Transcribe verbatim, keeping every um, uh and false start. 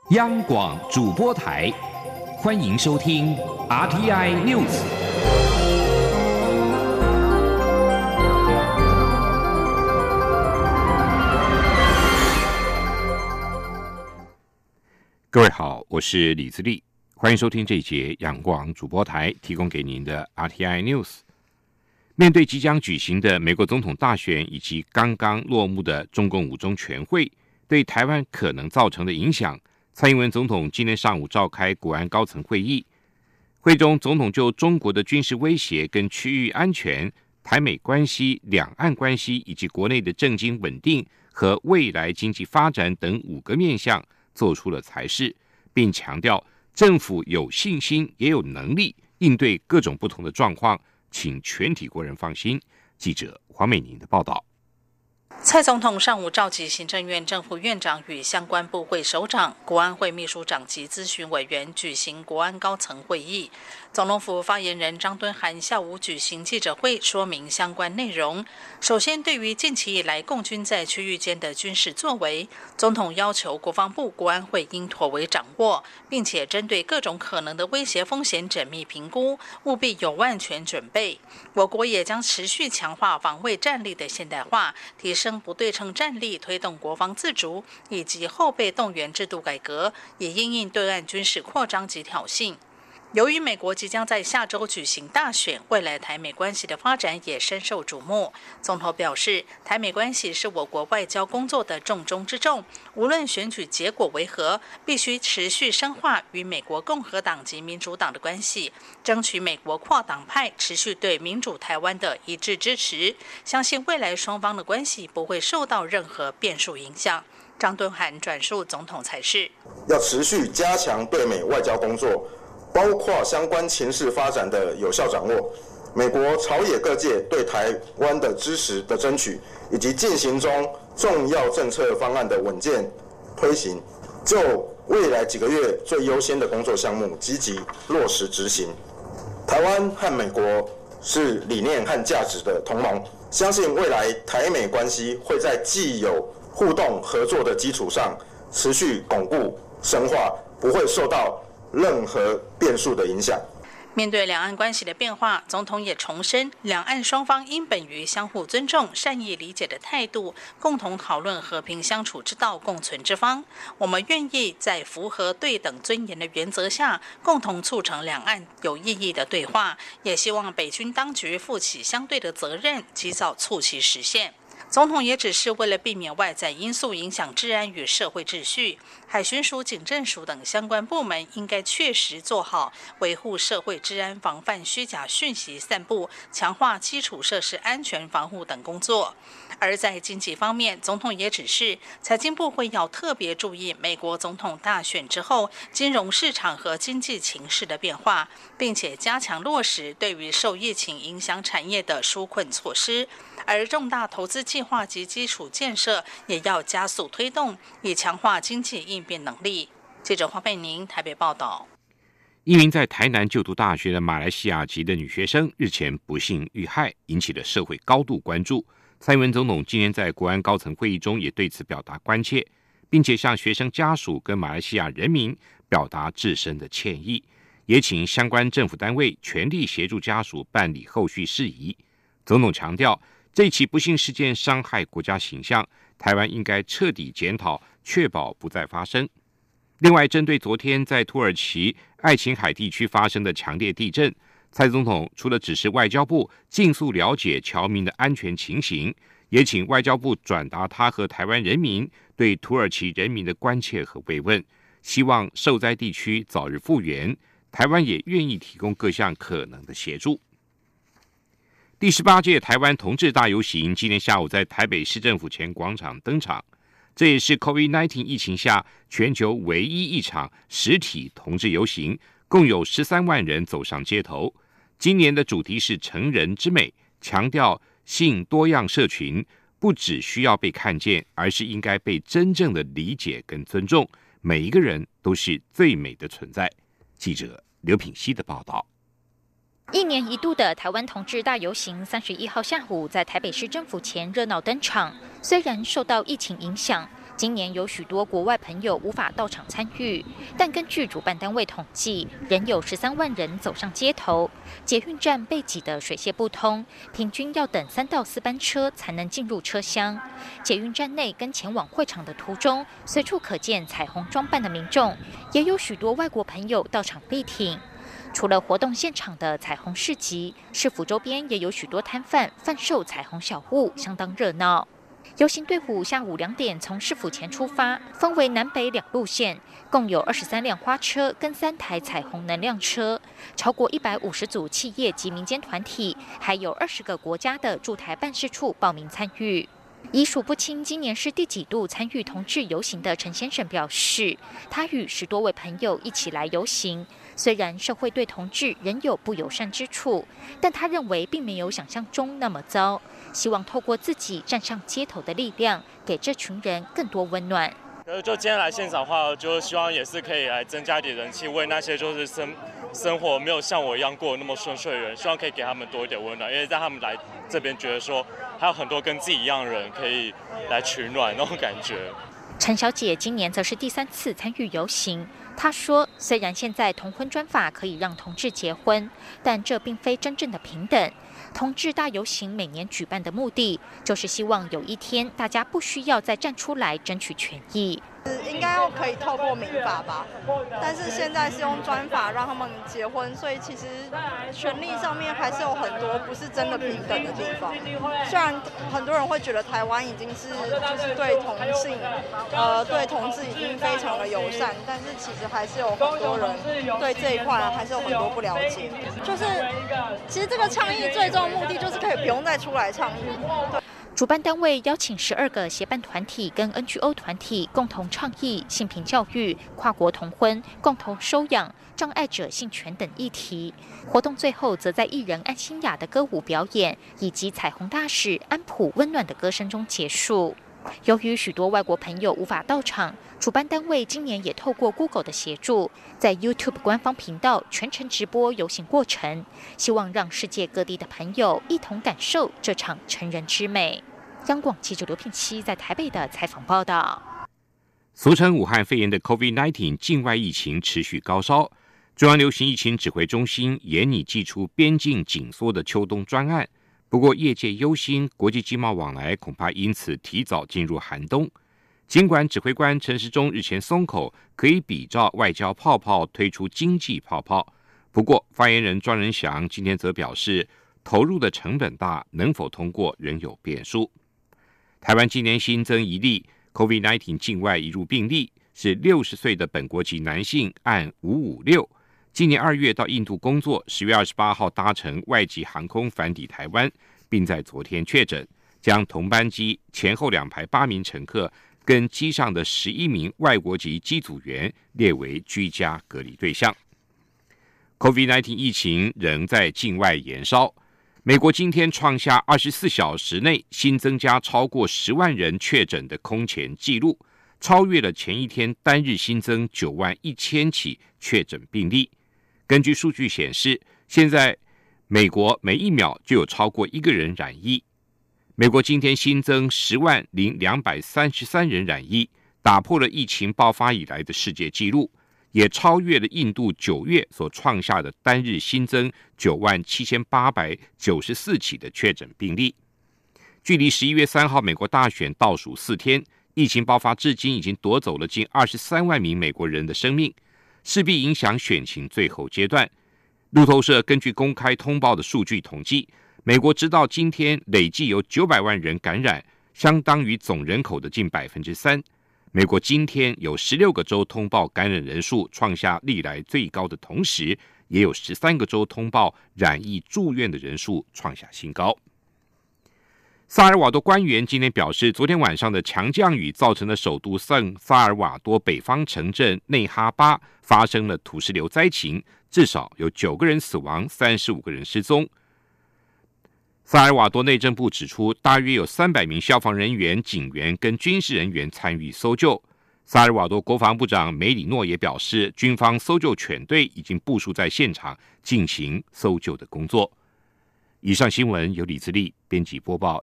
央广主播台，欢迎收听 R T I News。各位好，我是李自立，欢迎收听这一节央广主播台提供给您的 R T I News。面对即将举行的美国总统大选以及刚刚落幕的中共五中全会对台湾可能造成的影响，蔡英文总统今天上午召开国安高层会议，会中总统就中国的军事威胁跟区域安全、台美关系、两岸关系以及国内的政经稳定和未来经济发展等五个面向做出了裁示，并强调政府有信心也有能力应对各种不同的状况，请全体国人放心。记者黄美宁的报道。 蔡总统上午召集行政院正副院长与相关部会首长、国安会秘书长及咨询委员举行国安高层会议。总统府发言人张敦涵下午举行记者会，说明相关内容。首先，对于近期以来共军在区域间的军事作为，总统要求国防部国安会应妥为掌握，并且针对各种可能的威胁风险缜密评估，务必有万全准备。我国也将持续强化防卫战力的现代化，提升不对称战力，推动国防自主以及后备动员制度改革，以因应对岸军事扩张及挑衅。由于美国即将在下周举行大选，未来台美关系的发展也深受瞩目。总统表示，台美关系是我国外交工作的重中之重，无论选举结果为何，必须持续深化与美国共和党及民主党的关系，争取美国跨党派持续对民主台湾的一致支持。相信未来双方的关系不会受到任何变数影响。张敦涵转述总统裁示， 要持续加强对美外交工作，包括相关情势发展的有效掌握，美国朝野各界对台湾的支持的争取，以及进行中重要政策方案的稳健推行，就未来几个月最优先的工作项目积极落实执行。台湾和美国是理念和价值的同盟，相信未来台美关系会在既有互动合作的基础上持续巩固深化，不会受到任何变数的影响。 面对两岸关系的变化，总统也重申，两岸双方应本于相互尊重、善意理解的态度，共同讨论和平相处之道、共存之方。我们愿意在符合对等尊严的原则下，共同促成两岸有意义的对话，也希望北军当局负起相对的责任，及早促其实现。总统也指示，为了避免外在因素影响治安与社会秩序，海巡署、警政署等相关部门应该确实做好维护社会治安、防范虚假讯息散布、强化基础设施安全防护等工作。而在经济方面，总统也指示，财经部会要特别注意美国总统大选之后金融市场和经济情势的变化，并且加强落实对于受疫情影响产业的纾困措施。而重大投资计划及基础建设也要加速推动，以强化经济应变能力。记者黄佩宁台北报道。 一名在台南就读大学的马来西亚籍的女学生日前不幸遇害，引起了社会高度关注。蔡英文总统今天在国安高层会议中也对此表达关切，并且向学生家属跟马来西亚人民表达至深的歉意，也请相关政府单位全力协助家属办理后续事宜。总统强调，这起不幸事件伤害国家形象，台湾应该彻底检讨，确保不再发生。另外，针对昨天在土耳其爱琴海地区发生的强烈地震，蔡总统除了指示外交部尽速了解侨民的安全情形，也请外交部转达他和台湾人民对土耳其人民的关切和慰问，希望受灾地区早日复原，台湾也愿意提供各项可能的协助。第十八届台湾同志大游行今天下午在台北市政府前广场登场，这也是 COVID 十九 疫情下全球唯一一场实体同志游行，共有十三万人走上街头。今年的主题是成人之美，强调性多样社群不只需要被看见，而是应该被真正的理解跟尊重，每一个人都是最美的存在。记者刘品希的报道。 一年一度的台湾同志大游行，三十一号下午在台北市政府前热闹登场。虽然受到疫情影响， 今年有许多国外朋友无法到场参与，但根据主办单位统计，仍有十三万人走上街头，捷运站被挤得水泄不通，平均要等三到四班车才能进入车厢。捷运站内跟前往会场的途中，随处可见彩虹装扮的民众，也有许多外国朋友到场力挺。除了活动现场的彩虹市集，市府周边也有许多摊贩贩售彩虹小物，相当热闹。游行队伍下午两点从市府前出发，分为南北两路线，共有二十三辆花车跟三台彩虹能量车，超过一百五十组企业及民间团体，还有二十个国家的驻台办事处报名参与。已数不清今年是第几度参与同志游行的陈先生表示，他与十多位朋友一起来游行，虽然社会对同志仍有不友善之处，但他认为并没有想象中那么糟，希望透过自己站上街头的力量，给这群人更多温暖。 就今天来现场的话，就希望也是可以来增加一点人气，为那些就是生生活没有像我一样过得那么顺遂的人，希望可以给他们多一点温暖，因为让他们来这边觉得说还有很多跟自己一样的人可以来取暖那种感觉。 陈小姐今年则是第三次参与游行，她说，虽然现在同婚专法可以让同志结婚，但这并非真正的平等。同志大游行每年举办的目的，就是希望有一天大家不需要再站出来争取权益。 应该要可以透过民法吧，但是现在是用专法让他们结婚，所以其实权利上面还是有很多不是真的平等的地方。虽然很多人会觉得台湾已经是就是对同性，呃，对同志已经非常的友善，但是其实还是有很多人对这一块还是有很多不了解。就是其实这个倡议最终的目的就是可以不用再出来倡议。对。 主办单位邀请十二个协办团体跟 N G O 团体共同倡议性平教育、跨国同婚、共同收养、障碍者性权等议题。活动最后则在艺人安心雅的歌舞表演以及彩虹大使安普温暖的歌声中结束。由于许多外国朋友无法到场，主办单位今年也透过 Google 的协助，在 YouTube 官方频道全程直播游行过程，希望让世界各地的朋友一同感受这场成人之美。央广记者刘聘熙在台北的采访报道。 俗称武汉肺炎的 COVID 十九 境外疫情持续高烧，中央流行疫情指挥中心研拟祭出边境紧缩的秋冬专案，不过业界忧心国际经贸往来恐怕因此提早进入寒冬。尽管指挥官陈时中日前松口，可以比照外交泡泡推出经济泡泡，不过发言人庄仁祥今天则表示，投入的成本大，能否通过仍有变数。台湾今年新增一例 COVID 十九 境外移入病例，是六十岁的本国籍男性，案五五六。今年二月到印度工作，十月二十八号搭乘外籍航空返抵台湾，并在昨天确诊，将同班机前后两排八名乘客跟机上的十一名外国籍机组员列为居家隔离对象。COVID 十九 疫情仍在境外延烧。美国今天创下二十四小时内新增加超过十万人确诊的空前纪录，超越了前一天单日新增九万一千起确诊病例。根据数据显示，现在美国每一秒就有超过一个人染疫。美国今天新增十万零两百三十三人染疫，打破了疫情爆发以来的世界纪录，也超越了印度九月所创下的单日新增九万七千八百九十四起的确诊病例。距离十一月三号美国大选倒数四天，疫情爆发至今已经夺走了近二十三万名美国人的生命，势必影响选情最后阶段。路透社根据公开通报的数据统计，美国直到今天累计有九百万人感染，相当于总人口的近 百分之三。美国今天有十六个州通报感染人数创下历来最高的同时，也有十三个州通报染疫住院的人数创下新高。萨尔瓦多官员今天表示，昨天晚上的强降雨造成了首都圣萨尔瓦多北方城镇内哈巴发生了土石流灾情，至少有九个人死亡，三十五个人失踪。萨尔瓦多内政部指出，大约有三百名消防人员、警员跟军事人员参与搜救。萨尔瓦多国防部长梅里诺也表示，军方搜救犬队已经部署在现场进行搜救的工作。以上新闻由李自力编辑播报，